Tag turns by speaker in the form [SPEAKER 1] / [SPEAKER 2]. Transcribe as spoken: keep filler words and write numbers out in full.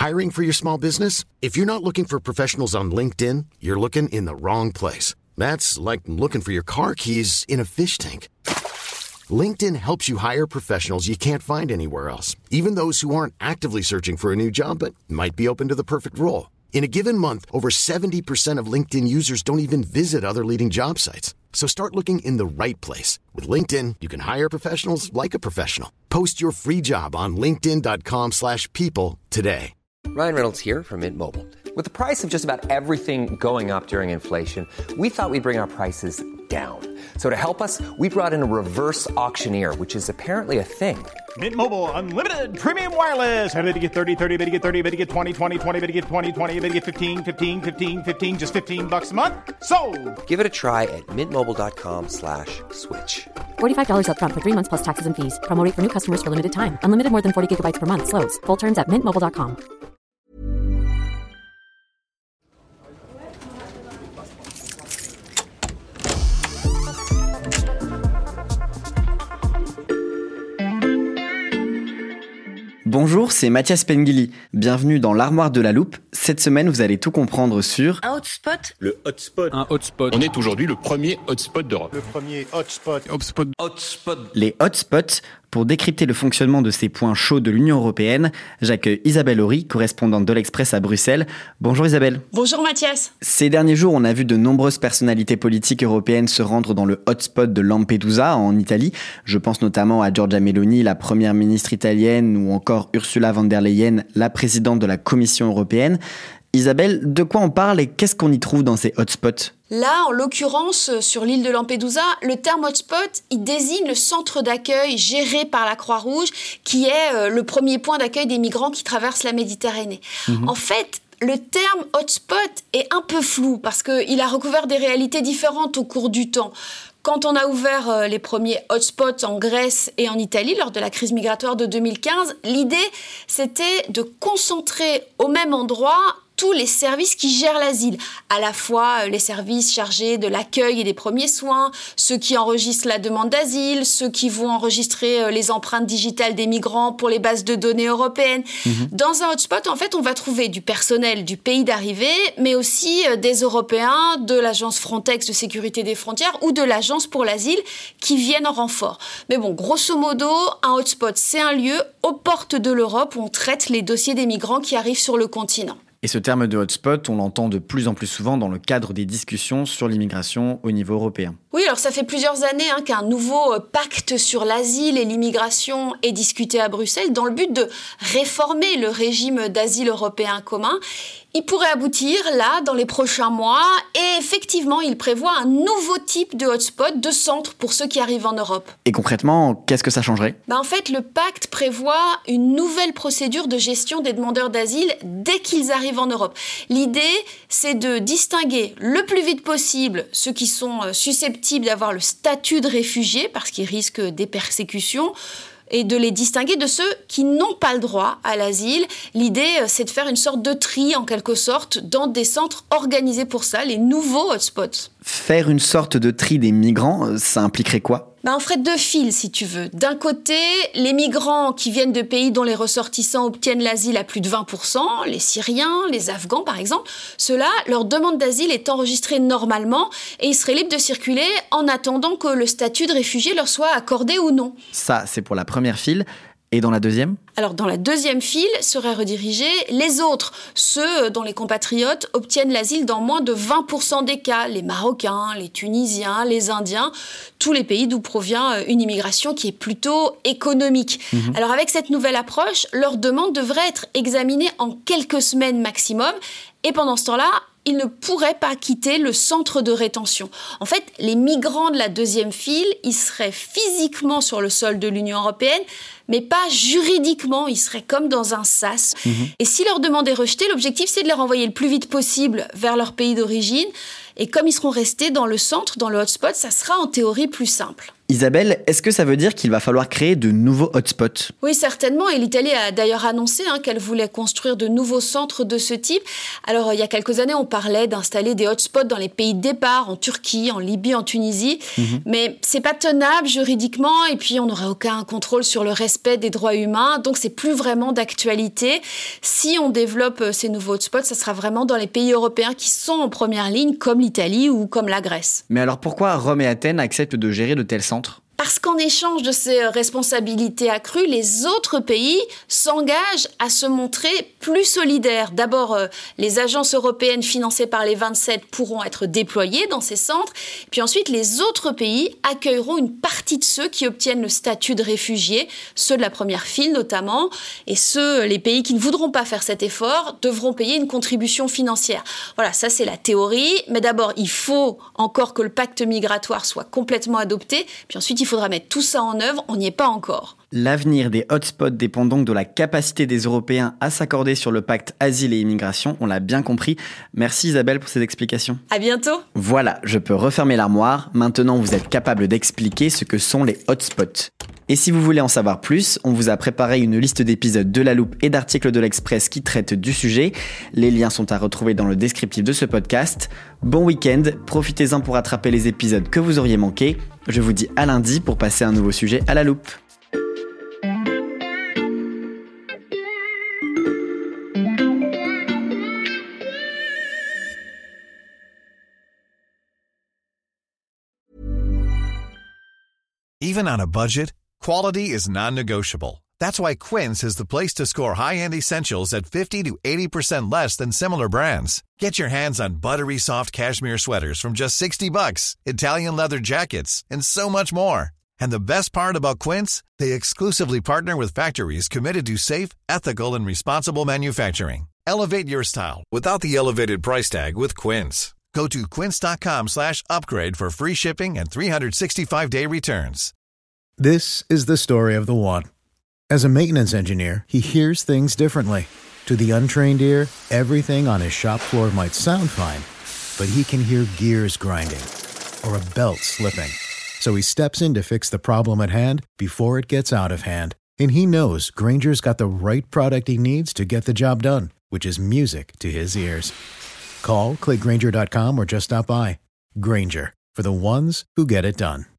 [SPEAKER 1] Hiring for your small business? If you're not looking for professionals on LinkedIn, you're looking in the wrong place. That's like looking for your car keys in a fish tank. LinkedIn helps you hire professionals you can't find anywhere else, even those who aren't actively searching for a new job but might be open to the perfect role. In a given month, over seventy percent of LinkedIn users don't even visit other leading job sites. So start looking in the right place. With LinkedIn, you can hire professionals like a professional. Post your free job on linkedin.com slash people today.
[SPEAKER 2] Ryan Reynolds here from Mint Mobile. With the price of just about everything going up during inflation, we thought we'd bring our prices down. So to help us, we brought in a reverse auctioneer, which is apparently a thing.
[SPEAKER 3] Mint Mobile Unlimited Premium Wireless. How to get thirty, thirty, how to get thirty, how to get twenty, twenty, twenty, how to get twenty, twenty, how to get fifteen, fifteen, fifteen, fifteen, just fifteen bucks a month? Sold!
[SPEAKER 2] Give it a try at mintmobile.com slash switch.
[SPEAKER 4] forty-five dollars up front for three months plus taxes and fees. Promo rate for new customers for limited time. Unlimited more than forty gigabytes per month. Slows full terms at mint mobile dot com.
[SPEAKER 5] Bonjour, c'est Mathias Pengili. Bienvenue dans l'Armoire de la Loupe. Cette semaine, vous allez tout comprendre sur...
[SPEAKER 6] Un hotspot.
[SPEAKER 7] Le hotspot.
[SPEAKER 8] Un hotspot.
[SPEAKER 7] On est aujourd'hui le premier hotspot d'Europe.
[SPEAKER 3] Le premier hotspot.
[SPEAKER 8] Hotspot.
[SPEAKER 7] Hotspot.
[SPEAKER 5] Les hotspots. Pour décrypter le fonctionnement de ces points chauds de l'Union européenne, j'accueille Isabelle Horry, correspondante de l'Express à Bruxelles. Bonjour Isabelle.
[SPEAKER 6] Bonjour Mathias.
[SPEAKER 5] Ces derniers jours, on a vu de nombreuses personnalités politiques européennes se rendre dans le hotspot de Lampedusa, en Italie. Je pense notamment à Giorgia Meloni, la première ministre italienne, ou encore Ursula von der Leyen, la présidente de la Commission européenne. Isabelle, de quoi on parle et qu'est-ce qu'on y trouve dans ces hotspots ?
[SPEAKER 6] Là, en l'occurrence, sur l'île de Lampedusa, le terme hotspot, il désigne le centre d'accueil géré par la Croix-Rouge, qui est le premier point d'accueil des migrants qui traversent la Méditerranée. Mmh. En fait, le terme hotspot est un peu flou parce qu'il a recouvert des réalités différentes au cours du temps. Quand on a ouvert les premiers hotspots en Grèce et en Italie lors de la crise migratoire de deux mille quinze, l'idée, c'était de concentrer au même endroit tous les services qui gèrent l'asile, à la fois les services chargés de l'accueil et des premiers soins, ceux qui enregistrent la demande d'asile, ceux qui vont enregistrer les empreintes digitales des migrants pour les bases de données européennes. Mmh. Dans un hotspot, en fait, on va trouver du personnel du pays d'arrivée, mais aussi des Européens, de l'agence Frontex de sécurité des frontières ou de l'agence pour l'asile qui viennent en renfort. Mais bon, grosso modo, un hotspot, c'est un lieu aux portes de l'Europe où on traite les dossiers des migrants qui arrivent sur le continent.
[SPEAKER 5] Et ce terme de hotspot, on l'entend de plus en plus souvent dans le cadre des discussions sur l'immigration au niveau européen.
[SPEAKER 6] Oui, alors ça fait plusieurs années hein, qu'un nouveau pacte sur l'asile et l'immigration est discuté à Bruxelles dans le but de réformer le régime d'asile européen commun. Il pourrait aboutir là, dans les prochains mois, et effectivement, il prévoit un nouveau type de hotspot, de centre pour ceux qui arrivent en Europe.
[SPEAKER 5] Et concrètement, qu'est-ce que ça changerait ?
[SPEAKER 6] Ben en fait, le pacte prévoit une nouvelle procédure de gestion des demandeurs d'asile dès qu'ils arrivent en Europe. L'idée, c'est de distinguer le plus vite possible ceux qui sont susceptibles d'avoir le statut de réfugié, parce qu'ils risquent des persécutions, et de les distinguer de ceux qui n'ont pas le droit à l'asile. L'idée, c'est de faire une sorte de tri, en quelque sorte, dans des centres organisés pour ça, les nouveaux hotspots.
[SPEAKER 5] Faire une sorte de tri des migrants, ça impliquerait quoi ?
[SPEAKER 6] Ben, on ferait deux fils, si tu veux. D'un côté, les migrants qui viennent de pays dont les ressortissants obtiennent l'asile à plus de vingt pour cent, les Syriens, les Afghans par exemple, ceux-là, leur demande d'asile est enregistrée normalement et ils seraient libres de circuler en attendant que le statut de réfugié leur soit accordé ou non.
[SPEAKER 5] Ça, c'est pour la première file. Et dans la deuxième ?
[SPEAKER 6] Alors, dans la deuxième file seraient redirigés les autres, ceux dont les compatriotes obtiennent l'asile dans moins de vingt pour cent des cas, les Marocains, les Tunisiens, les Indiens, tous les pays d'où provient une immigration qui est plutôt économique. Mmh. Alors, avec cette nouvelle approche, leur demande devrait être examinée en quelques semaines maximum, et pendant ce temps-là, ils ne pourraient pas quitter le centre de rétention. En fait, les migrants de la deuxième file, ils seraient physiquement sur le sol de l'Union européenne, mais pas juridiquement, ils seraient comme dans un sas. Mmh. Et si leur demande est rejetée, l'objectif, c'est de les renvoyer le plus vite possible vers leur pays d'origine. Et comme ils seront restés dans le centre, dans le hotspot, ça sera en théorie plus simple.
[SPEAKER 5] Isabelle, est-ce que ça veut dire qu'il va falloir créer de nouveaux hotspots ?
[SPEAKER 6] Oui, certainement. Et l'Italie a d'ailleurs annoncé hein, qu'elle voulait construire de nouveaux centres de ce type. Alors, il y a quelques années, on parlait d'installer des hotspots dans les pays de départ, en Turquie, en Libye, en Tunisie. Mmh. Mais c'est pas tenable juridiquement. Et puis, on n'aurait aucun contrôle sur le respect des droits humains. Donc, c'est plus vraiment d'actualité. Si on développe ces nouveaux hotspots, ça sera vraiment dans les pays européens qui sont en première ligne, comme l'Italie ou comme la Grèce.
[SPEAKER 5] Mais alors, pourquoi Rome et Athènes acceptent de gérer de tels centres ?
[SPEAKER 6] Parce qu'en échange de ces responsabilités accrues, les autres pays s'engagent à se montrer plus solidaires. D'abord, euh, les agences européennes financées par les vingt-sept pourront être déployées dans ces centres. Puis ensuite, les autres pays accueilleront une partie de ceux qui obtiennent le statut de réfugiés, ceux de la première file notamment. Et ceux, les pays qui ne voudront pas faire cet effort, devront payer une contribution financière. Voilà, ça c'est la théorie. Mais d'abord, il faut encore que le pacte migratoire soit complètement adopté. Puis ensuite, il faudra mettre tout ça en œuvre, on n'y est pas encore.
[SPEAKER 5] L'avenir des hotspots dépend donc de la capacité des Européens à s'accorder sur le pacte asile et immigration, on l'a bien compris. Merci Isabelle pour ces explications.
[SPEAKER 6] À bientôt.
[SPEAKER 5] Voilà, je peux refermer l'armoire. Maintenant, vous êtes capable d'expliquer ce que sont les hotspots. Et si vous voulez en savoir plus, on vous a préparé une liste d'épisodes de La Loupe et d'articles de l'Express qui traitent du sujet. Les liens sont à retrouver dans le descriptif de ce podcast. Bon week-end, profitez-en pour rattraper les épisodes que vous auriez manqués. Je vous dis à lundi pour passer un nouveau sujet à La Loupe.
[SPEAKER 8] Even on a budget, quality is non-negotiable. That's why Quince is the place to score high-end essentials at fifty to eighty percent less than similar brands. Get your hands on buttery soft cashmere sweaters from just sixty bucks, Italian leather jackets, and so much more. And the best part about Quince, they exclusively partner with factories committed to safe, ethical, and responsible manufacturing. Elevate your style without the elevated price tag with Quince. Go to quince.com slash upgrade for free shipping and three sixty-five day returns.
[SPEAKER 9] This is the story of the one. As a maintenance engineer, he hears things differently. To the untrained ear, everything on his shop floor might sound fine, but he can hear gears grinding or a belt slipping. So he steps in to fix the problem at hand before it gets out of hand. And he knows Grainger's got the right product he needs to get the job done, which is music to his ears. Call, click Grainger dot com or just stop by. Grainger, for the ones who get it done.